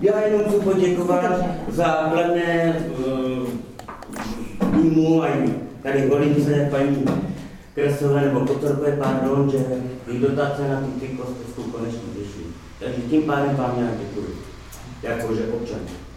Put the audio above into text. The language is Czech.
Já jenom chci poděkovat za kladné týmu a tady Holince, paní Kresové nebo Kotorkové, pardon, že i dotace na ty kostelskou konečně vyšly. Takže tím pádem vám nějak děkuji, jakože občan.